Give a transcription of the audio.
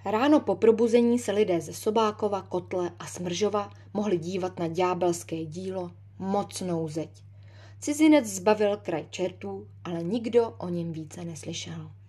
Ráno po probuzení se lidé ze Sobákova, Kotle a Smržova mohli dívat na ďábelské dílo Mocnou zeď. Cizinec zbavil kraj čertů, ale nikdo o něm více neslyšel.